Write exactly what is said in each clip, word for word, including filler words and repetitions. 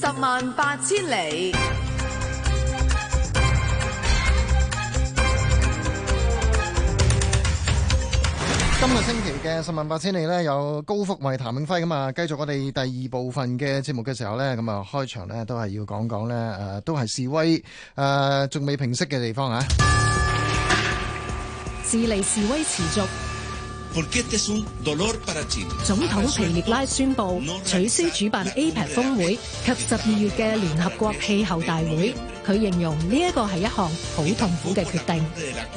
十萬八千里。 今個星期嘅十萬八千里呢，有高福慧、譚永輝咁啊，繼續我哋第二部分嘅節目嘅時候呢，咁啊開場呢都係要講講呢，誒都係示威誒仲未平息嘅地方啊。 智利示威持續，總統皮涅拉宣布取消主辦 A P E C 峰會及十二月嘅聯合國氣候大會。佢形容呢一個係一項好痛苦嘅決定。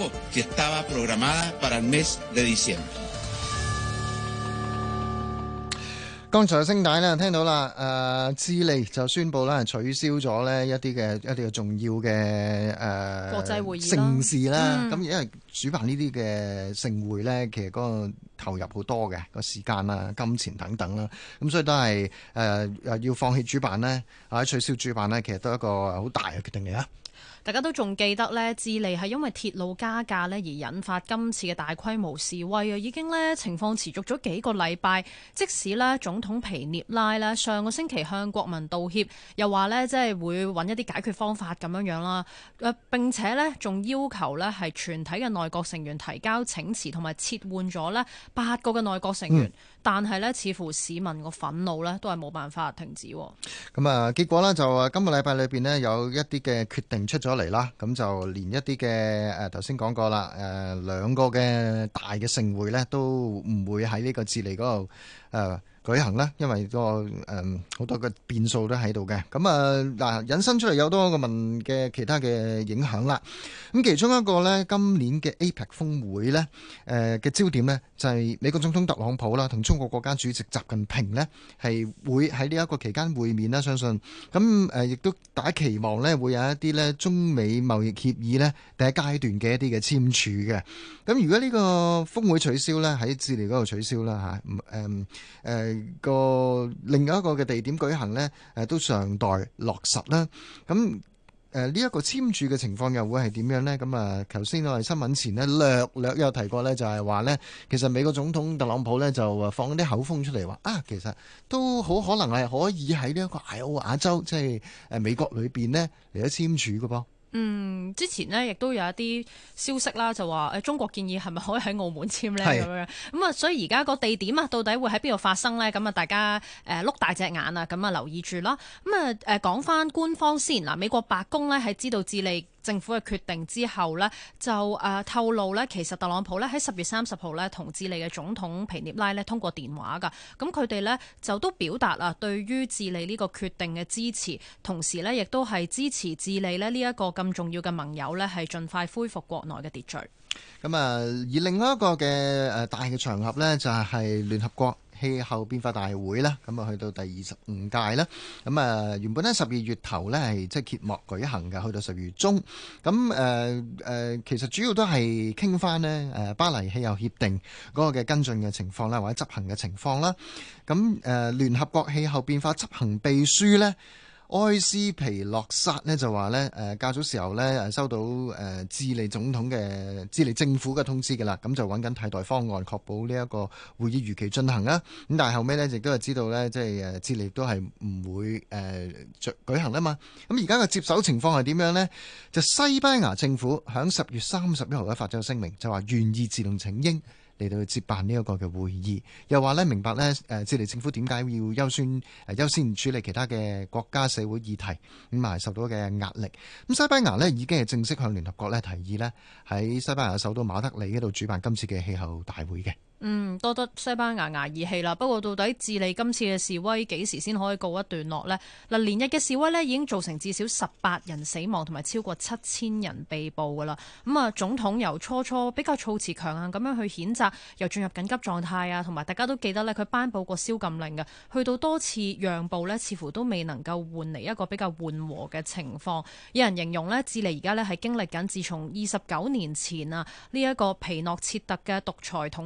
剛才聲帶呢聽到啦，誒、呃、智利就宣布啦取消咗呢一啲嘅一啲嘅重要嘅誒、呃、 國際會議盛事啦。咁、嗯、因為主辦呢啲嘅盛會呢，其實嗰個投入好多嘅個時間啦、金錢等等啦，咁所以都係誒、呃、要放棄主辦呢，或者取消主辦呢，其實都係一個好大嘅決定嚟啊！ 大家都仲記得呢，智利係因為鐵路加價呢而引發今次嘅大規模示威啊，已經呢情況持續咗幾個禮拜。即使呢總統皮涅拉呢上個星期向國民道歉，又話呢即係會揾一啲解決方法咁樣樣啦。誒並且呢仲要求呢係全體嘅內閣成員提交請辭，同埋撤換咗呢八個嘅內閣成員。嗯、但係呢似乎市民個憤怒呢都係冇辦法停止。 咁啊，結果呢就誒今個禮拜裏邊呢有一啲嘅決定出咗嚟啦，咁就連一啲嘅誒頭先講過啦，誒兩個嘅大嘅盛會呢都唔會喺呢個智利嗰度誒舉行啦，因為個誒好多嘅變數都喺度嘅。咁啊嗱，引申出嚟有多個問嘅其他嘅影響啦。咁其中一個呢，今年嘅 A P E C 峰會呢誒嘅焦點呢，就係美國總統特朗普啦，同中國國家主席習近平呢係會喺呢一個期間會面啦。相信咁誒，亦都大家期望呢會有一啲呢中美貿易協議呢第一階段嘅一啲嘅簽署嘅。咁如果呢個峰會取消呢，喺智利嗰度取消啦嚇，誒誒個另外一個嘅地點舉行呢，誒都尚待落實啦。咁誒呢一個簽署嘅情況又會係點樣呢？咁啊，頭先我哋新聞前呢略略有提過呢，就係話呢，其實美國總統特朗普呢就放啲口風出嚟話啊，其實都好可能係可以喺呢一個艾奧瓦州，即係誒美國裏邊呢嚟咗簽署嘅噃。 嗯，之前呢亦都有一啲消息啦，就話誒中國建議係咪可以喺澳門簽呢？咁樣咁啊，所以而家個地點啊，到底會喺邊度發生呢？咁啊，大家誒碌大隻眼啊，咁啊留意住啦。咁啊誒講翻官方先嗱，美國白宮呢喺知道智利政府嘅決定之後呢，就誒、呃、透露呢，其實特朗普呢喺十月三十號呢同智利嘅總統皮涅拉呢通過電話㗎。咁佢哋呢就都表達啊對於智利呢個決定嘅支持，同時呢亦都係支持智利呢呢一個咁重要嘅盟友呢係盡快恢復國內嘅秩序。 咁啊，而另外一個嘅誒大嘅場合呢，就係聯合國氣候變化大會啦，咁啊去到第二十五屆啦，咁啊原本咧十二月頭咧係即係揭幕舉行嘅，去到十二月中，咁誒誒其實主要都係傾翻呢誒巴黎氣候協定嗰個嘅跟進嘅情況啦，或者執行嘅情況啦，咁誒聯合國氣候變化執行秘書咧，埃斯皮洛薩呢就話呢誒較早時候呢收到誒智利總統嘅智利政府嘅通知㗎啦，咁就揾緊替代方案，確保呢一個會議如期進行啦。咁但係後尾呢，亦都係知道呢，即係誒智利都係唔會誒舉行啦嘛。咁而家嘅接手情況係點樣呢？就西班牙政府響十月三十一號咧發咗聲明，就話願意自動請纓嚟到去接辦呢一個嘅會議，又話咧明白咧誒智利政府點解要優先誒優先處理其他嘅國家社會議題，咁啊受到嘅壓力。咁西班牙咧已經係正式向聯合國咧提議咧喺西班牙首都馬德里嗰度主辦今次嘅氣候大會嘅。 嗯，多得西班牙捱義氣啦。不過到底智利今次嘅示威幾時先可以告一段落呢？嗱，連日嘅示威呢已經造成至少十八人死亡同埋超過七千人被捕噶啦。咁啊，總統由初初比較措辭強硬咁樣去譴責，又進入緊急狀態啊，同埋大家都記得呢，佢頒布過宵禁令嘅，去到多次讓步呢，似乎都未能夠換嚟一個比較緩和嘅情況。有人形容呢，智利而家呢係經歷緊自從二十九年前啊呢一個皮諾切特嘅獨裁統治結束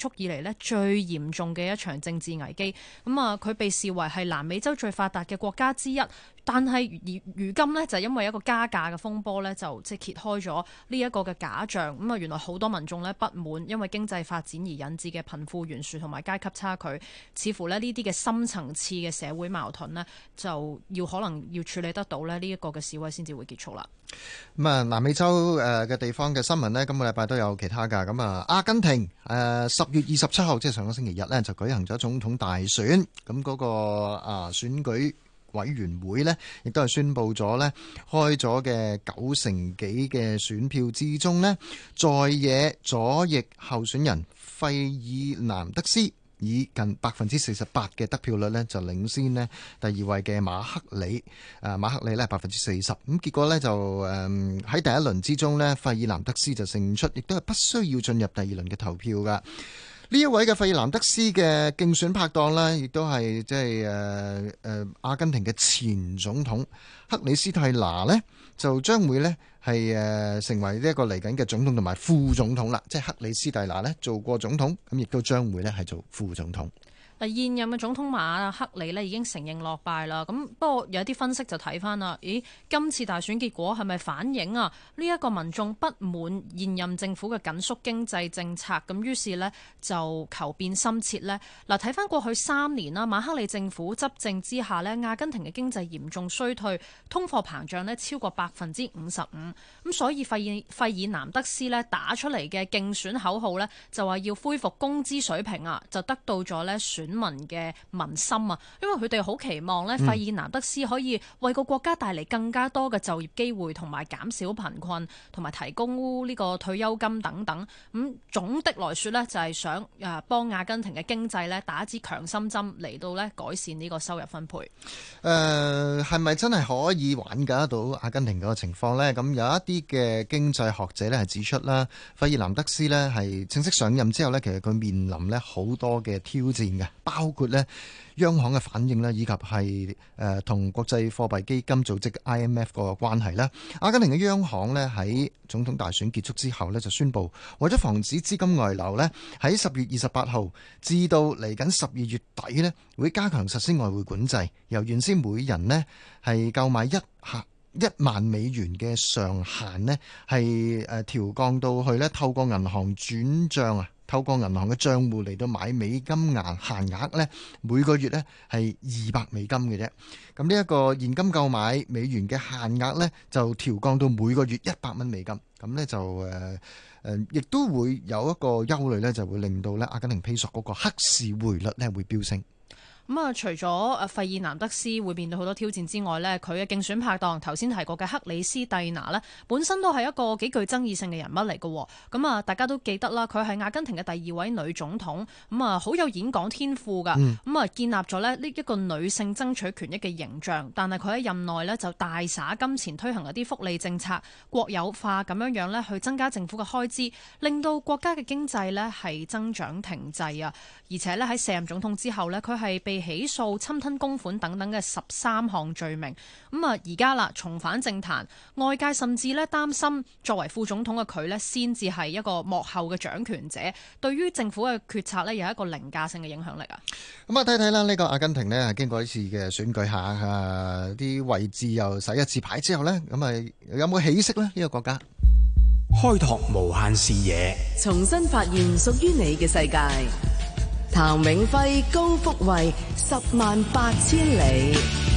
束以嚟呢最嚴重嘅一場政治危機。咁啊，佢被視為係南美洲最發達嘅國家之一。但係如今呢，就因為一個加價嘅風波呢，就即係揭開咗呢一個嘅假象。咁啊，原來好多民眾呢不滿，因為經濟發展而引致嘅貧富懸殊同埋階級差距，似乎呢呢啲嘅深層次嘅社會矛盾呢，就要可能要處理得到呢呢一個嘅示威先至會結束啦。 咁啊，南美洲誒嘅地方嘅新聞呢，今個禮拜都有其他㗎。咁啊，阿根廷誒十月二十七號，即係上個星期日呢，就舉行咗總統大選。咁嗰個啊選舉委員會呢，亦都係宣布咗呢，開咗嘅九成幾嘅選票之中呢，在野左翼候選人費爾南德斯以近百分之四十八嘅得票率呢，就領先呢第二位嘅馬克里。誒馬克里呢百分之四十。咁結果呢，就誒喺第一輪之中呢，費爾南德斯就勝出，亦都係不需要進入第二輪嘅投票㗎。呢一位嘅費爾南德斯嘅競選拍檔呢，亦都係即係誒誒阿根廷嘅前總統克里斯蒂娜呢，就將會呢係誒成為呢一個嚟緊嘅總統同埋副總統啦。即係克里斯蒂娜呢做過總統，咁亦都將會呢係做副總統。 嗱，現任嘅總統馬克里呢已經承認落敗啦。咁不過有啲分析就睇翻啦，咦，今次大選結果係咪反映啊呢一個民眾不滿現任政府嘅緊縮經濟政策？咁於是呢就求變深切呢。嗱，睇翻過去三年啦，馬克里政府執政之下呢，阿根廷嘅經濟嚴重衰退，通貨膨脹呢超過百分之五十五。咁所以費爾費爾南德斯呢打出嚟嘅競選口號呢，就話要恢復工資水平啊，就得到咗呢選選民嘅民心啊，因為佢哋好期望咧，費爾南德斯可以為個國家帶嚟更加多嘅就業機會，同埋減少貧困，同埋提供呢個退休金等等。咁總的來說咧，就係想誒幫阿根廷嘅經濟咧打一支強心針，嚟到咧改善呢個收入分配。誒係咪真係可以挽救得到阿根廷嗰個情況呢？咁有一啲嘅經濟學者咧係指出啦，費爾南德斯咧係正式上任之後咧，其實佢面臨咧好多嘅挑戰嘅。包括咧央行嘅反應啦，以及係誒同國際貨幣基金組織 I M F 個關係啦。阿根廷嘅央行咧喺總統大選結束之後咧就宣布，為咗防止資金外流咧，喺十月二十八號至到嚟緊十二月底咧，會加強實施外匯管制，由原先每人咧係購買一客一萬美元嘅上限咧，係誒調降到去咧透過銀行轉帳啊。透過銀行嘅帳戶嚟到買美金額限額呢，每個月呢係二百美金嘅啫。咁呢一個現金購買美元嘅限額呢，就調降到每個月一百蚊美金。咁呢就誒誒，亦都會有一個憂慮呢，就會令到呢阿根廷披索嗰個黑市匯率呢會飆升。 咁啊，除咗誒費爾南德斯會面對好多挑戰之外呢，佢嘅競選拍檔頭先提過嘅克里斯蒂娜呢，本身都係一個幾具爭議性嘅人物嚟嘅。咁啊，大家都記得啦，佢係阿根廷嘅第二位女總統，咁啊好有演講天賦㗎。咁啊、嗯、建立咗咧呢一個女性爭取權益嘅形象。但係佢喺任內呢，就大灑金錢推行一啲福利政策、國有化咁樣樣呢去增加政府嘅開支，令到國家嘅經濟呢係增長停滯啊。而且呢，喺卸任總統之後呢，佢係被起訴侵吞公款等等嘅十三項罪名，咁啊而家啦重返政壇，外界甚至咧擔心作為副總統嘅佢呢先至係一個幕後嘅掌權者，對於政府嘅決策呢有一個凌駕性嘅影響力啊！ 咁啊睇睇啦，呢個阿根廷呢經過一次嘅選舉下，啊啲位置又洗一次牌之後呢，咁啊有冇起色呢？呢個國家開拓無限視野， 重新發現屬於你嘅世界。譚永輝、高福慧，十萬八千里。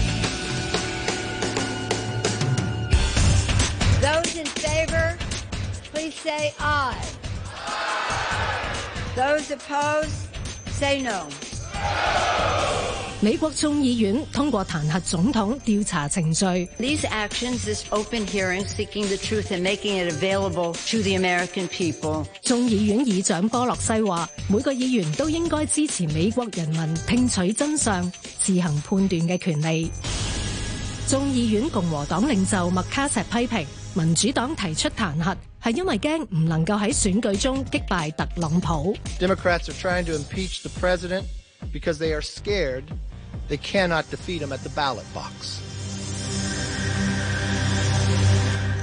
Those in favor, please say aye. Those opposed, say no. 美國眾議院通過彈劾總統調查程序。 These actions, this open hearing, seeking the truth and making it available to the American people. 眾議院議長波洛西話，每個議員都應該支持美國人民聽取真相、自行判斷嘅權利。眾議院共和黨領袖麥卡錫批評民主黨提出彈劾係因為驚唔能夠喺選舉中擊敗特朗普。 Democrats are trying to impeach the president because they are scared they cannot defeat him at the ballot box.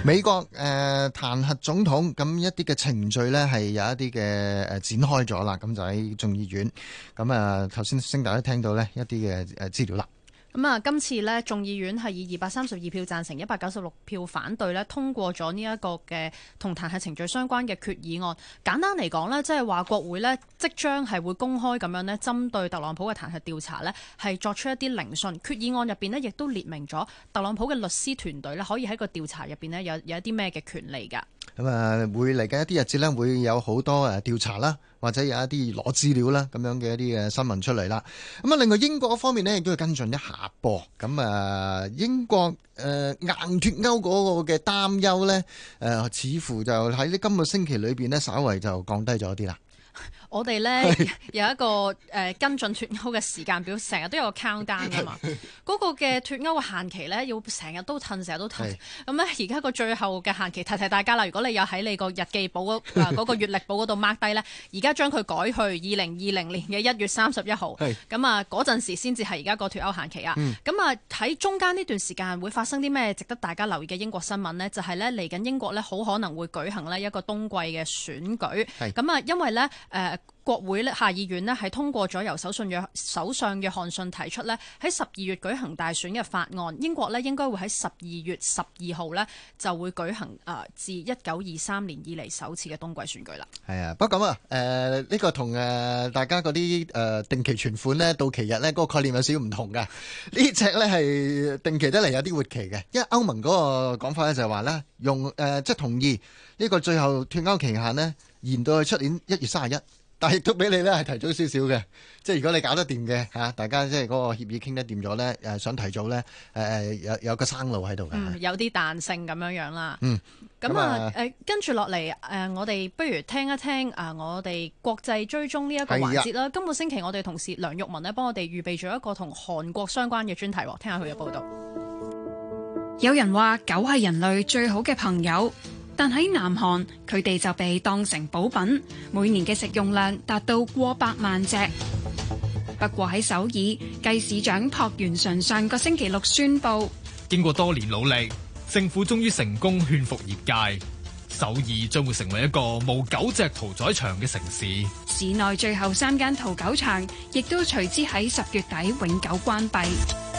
美國誒、呃、彈劾總統，咁一啲嘅程序呢係有一啲嘅誒展開咗啦，咁就喺眾議院。咁啊頭先聲大家聽到呢一啲嘅誒資料啦。 咁啊，今次呢眾議院係以二百三十二票贊成、一百九十六票反對呢通過咗呢一個嘅同彈劾程序相關嘅決議案。簡單嚟講呢，即係話國會呢即將係會公開咁樣呢針對特朗普嘅彈劾調查呢係作出一啲聆訊。決議案入邊呢亦都列明咗特朗普嘅律師團隊呢可以喺個調查入邊呢有有一啲咩嘅權利㗎。 咁啊，會嚟緊一啲日子呢，會有好多誒調查啦，或者有一啲攞資料啦，咁樣嘅一啲嘅新聞出嚟啦。咁啊，另外英國方面呢，亦都要跟進一下噃。咁啊，英國誒、呃、硬脱歐嗰個嘅擔憂呢，誒、呃、似乎就喺呢今個星期裏邊呢，稍為就降低咗啲啦。 我哋咧有一個誒跟進脱歐嘅時間表，成日都有個 countdown 㗎嘛。嗰個嘅脱歐嘅限期咧，要成日都褪，成日都褪。咁咧而家個最後嘅限期，提提大家啦。如果你有喺你個日記簿嗰嗰、嗰個月曆簿嗰度 mark 低咧，而家將佢改去二零二零年嘅一月三十一號。咁啊嗰陣時先至係而家個脱歐限期啊。咁啊喺中間呢段時間會發生啲咩值得大家留意嘅英國新聞呢？就係咧嚟緊英國咧好可能會舉行呢一個冬季嘅選舉。咁啊因為咧誒。呃國會咧下議院咧係通過咗由首相約首相約翰遜提出咧喺十二月舉行大選嘅法案，英國咧應該會喺十二月十二號咧就會舉行誒自一九二三年以嚟首次嘅冬季選舉啦。 係啊，不過咁啊，誒、呃、呢、這個同誒大家嗰啲誒定期存款咧到期日咧嗰個概念有少少唔同嘅。呢隻咧係定期得嚟有啲活期嘅，因為歐盟嗰個講法咧就係話咧用誒、呃、即係同意呢個最後脱歐期限呢延到去出年一月三十一。但係亦都俾你咧係提早少少嘅，即係如果你搞得掂嘅嚇，大家即係嗰個協議傾得掂咗咧，誒想提早咧，誒、呃、誒有有個生路喺度嘅， 嗯，有啲彈性咁樣樣啦。 嗯， 咁啊誒跟住落嚟誒，我哋不如聽一聽啊，我哋國際追蹤呢一個環節啦。今個星期我哋同事梁玉文呢幫我哋預備咗一個同韓國相關嘅專題，聽下佢嘅報導。 有人話狗係人類最好嘅朋友。但喺南韓，佢哋就被當成補品，每年嘅食用量達到過百萬隻。不過喺首爾，繼市長朴元淳上個星期六宣布， 經過多年努力，政府終於成功勸服業界，首爾將會成為一個無狗隻屠宰場嘅城市。 市內最後三間屠狗場亦都隨之喺十月底永久關閉。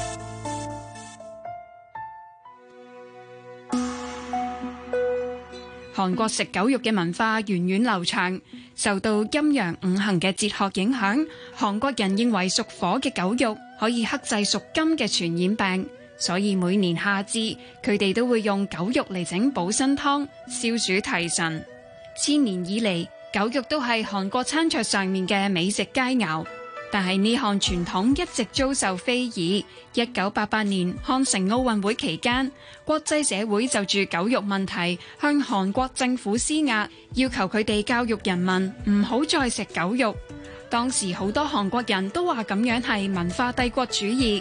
韓國食狗肉嘅文化源遠流長，受到陰陽五行嘅哲學影響，韓國人認為屬火嘅狗肉可以克制屬金嘅傳染病，所以每年夏至佢哋都會用狗肉嚟整補身湯，消暑提神。千年以嚟，狗肉都係韓國餐桌上面嘅美食佳肴。但係呢項傳統一直遭受非議。一九八八年漢城奧運會期間，國際社會就住狗肉問題向韓國政府施壓，要求佢哋教育人民唔好再食狗肉。當時好多韓國人都話咁樣係文化帝國主義。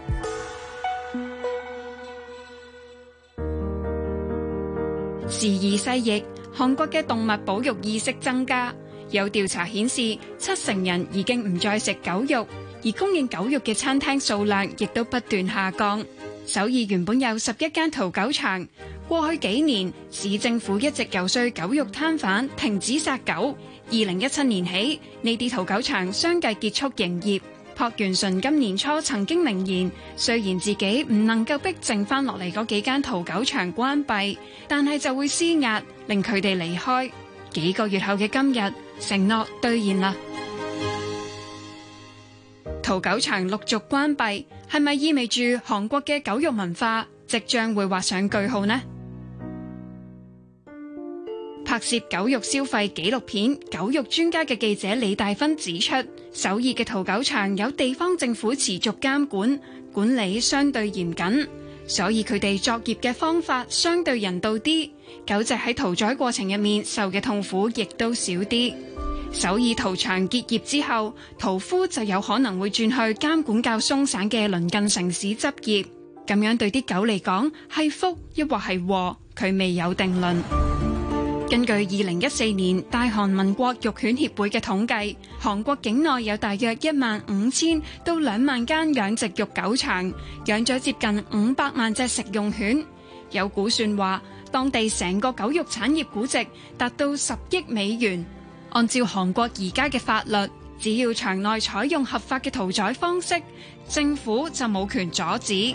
時移世易，韓國嘅動物保育意識增加。有調查顯示，七成人已經唔再食狗肉，而供應狗肉嘅餐廳數量亦都不斷下降。首爾原本有十一間屠狗場，過去幾年市政府一直游說狗肉攤販停止殺狗。二零一七年起，呢啲屠狗場相繼結束營業。朴元淳今年初曾經明言，雖然自己唔能夠逼剩翻落嚟嗰幾間屠狗場關閉，但係就會施壓令佢哋離開。幾個月後嘅今日，承諾兌現啦。屠狗場陸續關閉，係咪意味住韓國嘅狗肉文化即將會畫上句號呢？拍攝狗肉消費紀錄片《狗肉專家》嘅記者李大芬指出，首爾嘅屠狗場有地方政府持續監管，管理相對嚴謹，所以佢哋作業嘅方法相對人道啲。狗隻喺屠宰過程入面受嘅痛苦亦都少啲。首爾屠場結業之後，屠夫就有可能會轉去監管較鬆散嘅鄰近城市執業。咁樣對啲狗嚟講係福抑或係禍，佢未有定論。根據二零一四年大韓民國肉犬協會嘅統計，韓國境內有大約一萬五千到兩萬間養殖肉狗場，養咗接近五百萬隻食用犬。 有估算話，當地成個狗肉產業估值達到十億美元。按照韓國而家嘅法律，只要場內採用合法嘅屠宰方式，政府就冇權阻止。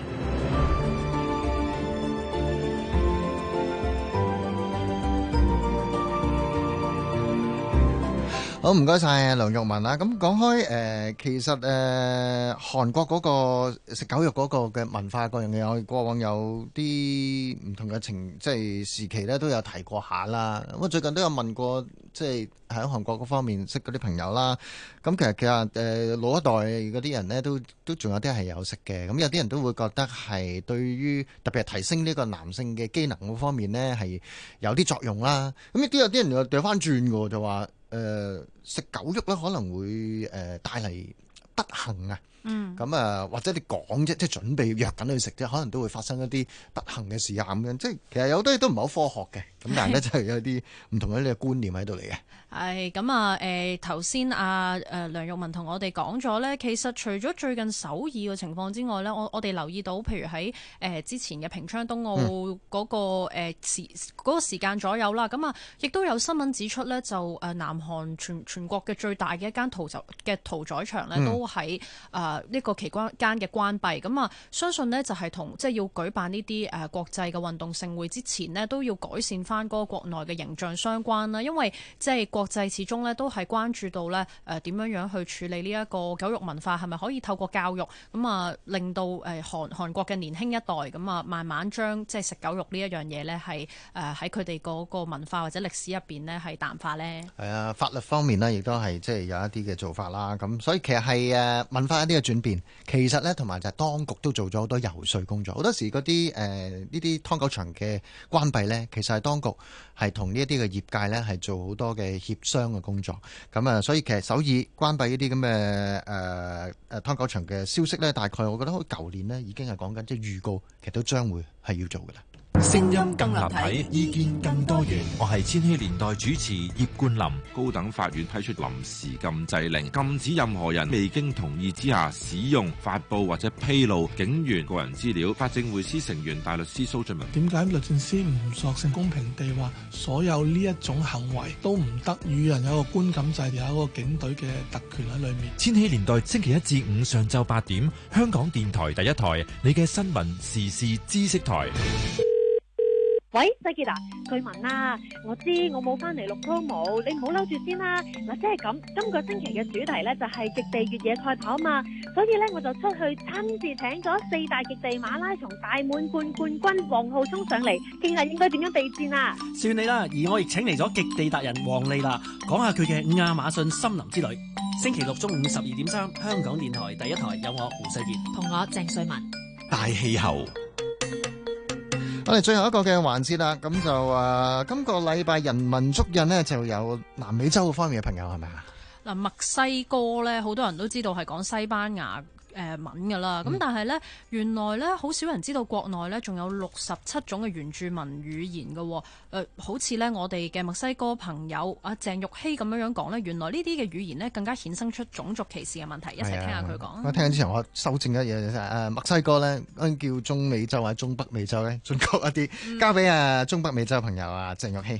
好，唔該晒梁鈺雯啦。咁講開誒、呃，其實誒、呃、韓國嗰個食狗肉嗰個嘅文化嗰樣嘢，我過往有啲唔同嘅情，即係時期咧都有提過下啦。咁我最近都有問過，即係喺韓國嗰方面識嗰啲朋友啦。咁其實其實誒老一代嗰啲人咧，都都仲有啲係有食嘅。咁有啲人都會覺得係對於特別係提升呢個男性嘅機能嗰方面咧，係有啲作用啦。咁亦都有啲人又掉翻轉嘅，就話。誒、呃、食狗肉咧可能會誒、呃、帶嚟不幸啊！嗯，咁啊或者你講啫，即係準備約緊去食啫，可能都會發生一啲不幸嘅事啊咁樣。即係其實有好多嘢都唔係好科學嘅，咁但係咧就係有啲唔同嘅呢個觀念喺度嚟嘅。 係咁啊！誒頭先啊誒梁鈺雯同我哋講咗咧，其實除咗最近首爾嘅情況之外咧，我我哋留意到，譬如喺誒、呃、之前嘅平昌冬奧嗰、那個誒、嗯呃、時嗰、那個時間左右啦，咁啊亦都有新聞指出咧，就誒南韓全全國嘅最大嘅一間屠宰嘅屠宰場咧，都喺誒呢個期間嘅關閉。咁啊，相信呢就係同即係要舉辦呢啲誒國際嘅運動盛會之前呢，都要改善翻嗰個國內嘅形象相關啦，因為即係國際始終咧都係關注到咧誒點樣樣去處理呢一個狗肉文化，係咪可以透過教育咁啊令到誒韓韓國嘅年輕一代咁啊慢慢將即係食狗肉呢一樣嘢咧係誒喺佢哋嗰個文化或者歷史入邊咧係淡化咧？係啊， 法律方面呢亦都係即係有一啲嘅做法啦。咁所以其實係誒文化一啲嘅轉變，其實咧同埋就係當局都做咗好多游說工作。好多時嗰啲誒呢啲劏狗場嘅關閉咧，其實係當局係同呢一啲嘅業界咧係做好多嘅協商嘅工作。咁啊，所以其實首爾關閉呢啲咁嘅誒誒劏狗場嘅消息咧，大概我覺得好似舊年呢已經係講緊即係預告，其實都將會係要做㗎啦。 聲音更立體，意見更多元。我係千禧年代主持葉冠霖。高等法院批出臨時禁制令，禁止任何人未經同意之下使用、發布或者披露警員個人資料。法政匯思成員大律師蘇俊文： 點解律政司唔索性公平地話，所有呢一種行為都唔得與人有個觀感制，有一個警隊嘅特權喺裏面？ 千禧年代星期一至五上晝八點，香港電台第一台，你嘅新聞時事知識台。 喂，世傑啊，據聞啊，我知我冇翻嚟錄 promo，你唔好嬲住先啦。嗱，即係咁，今個星期嘅主題咧就係極地越野賽跑嘛，所以咧我就出去親自請咗四大極地馬拉松大滿貫冠軍黃浩聰上嚟，傾下應該點樣備戰啊。 算你啦，而我亦請嚟咗極地達人黃麗娜，講下佢嘅亞馬遜森林之旅。星期六中午十二點三，香港電台第一台有我胡世傑同我鄭瑞文。 大氣候。 我哋最後一個嘅環節啦，咁就誒、呃，今個禮拜人民足印呢，就有南美洲方面嘅朋友係咪啊？ 嗱，墨西哥咧，好多人都知道係講西班牙誒文噶啦，咁、嗯、但係咧，原來咧好少人知道國內咧仲有六十七種嘅原住民語言嘅，誒、呃，好似咧我哋嘅墨西哥朋友阿鄭玉希咁樣樣講咧，原來呢啲嘅語言咧更加衍生出種族歧視嘅問題，一齊聽下佢講。我聽之前我修正一嘢誒，墨西哥咧叫中美洲或者中北美洲咧，準確一啲，嗯、交俾啊中北美洲朋友啊鄭玉希。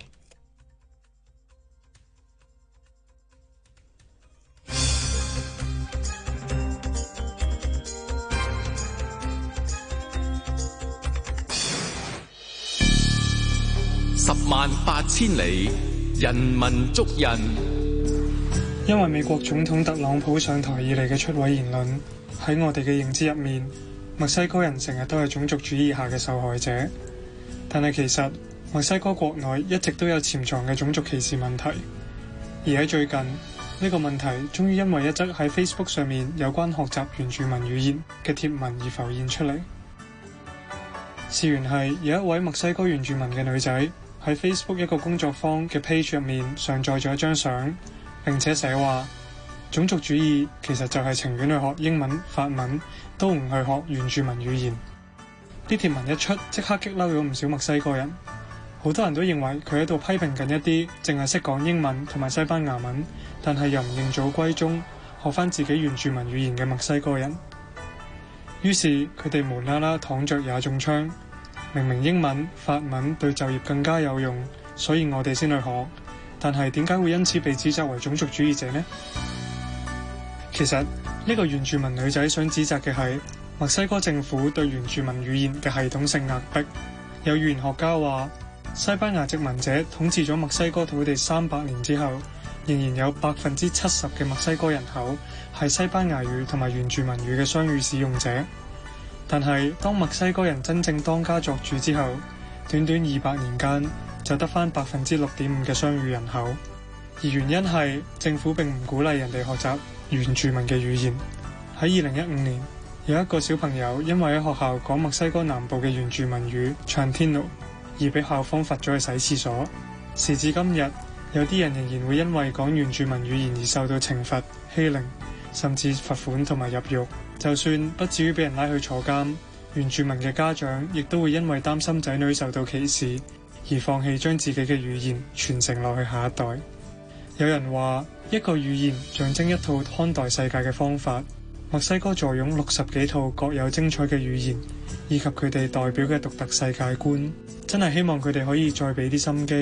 十萬八千里，人民足印。 因為美國總統特朗普上台以嚟嘅出位言論，喺我哋嘅認知入面，墨西哥人成日都係種族主義下嘅受害者。但係其實墨西哥國內一直都有潛藏嘅種族歧視問題，而喺最近呢、這個問題終於因為一則喺 Facebook 上面有關學習原住民語言嘅貼文而浮現出嚟。事緣係有一位墨西哥原住民嘅女仔喺 Facebook 一個工作坊嘅 page 入面上載咗一張相，並且寫話種族主義其實就係情願去學英文、法文，都唔去學原住民語言。啲貼文一出，即刻激嬲咗唔少墨西哥人，好多人都認為佢喺度批評緊一啲淨係識講英文同埋西班牙文，但係又唔認祖歸宗，學翻自己原住民語言嘅墨西哥人。於是佢哋無啦啦躺着也中槍， 明明英文、法文對就業更加有用，所以我哋先去學。但係點解會因此被指責為種族主義者呢？其實呢個原住民女仔想指責嘅係墨西哥政府對原住民語言嘅系統性壓迫。有語言學家話，西班牙殖民者統治咗墨西哥土地三百年之後，仍然有百分之七十嘅墨西哥人口係西班牙語同埋原住民語嘅雙語使用者。但係當墨西哥人真正當家作主之後，短短二百年間就得返百分之六點五嘅雙語人口。而原因係政府並唔鼓勵人哋學習原住民嘅語言。喺二零一五年，有一個小朋友因為喺學校講墨西哥南部嘅原住民語 Chantino 而被校方罰咗去洗廁所。時至今日，有啲人仍然會因為講原住民語言而受到懲罰、欺凌，甚至罰款同埋入獄。就算不至於俾人拉去坐監，原住民嘅家長亦都會因為擔心仔女受到歧視而放棄將自己嘅語言傳承落去下一代。有人話，一個語言象徵一套看待世界嘅方法。墨西哥坐擁六十幾套各有精彩嘅語言，以及佢哋代表嘅獨特世界觀，真係希望佢哋可以再俾啲心機。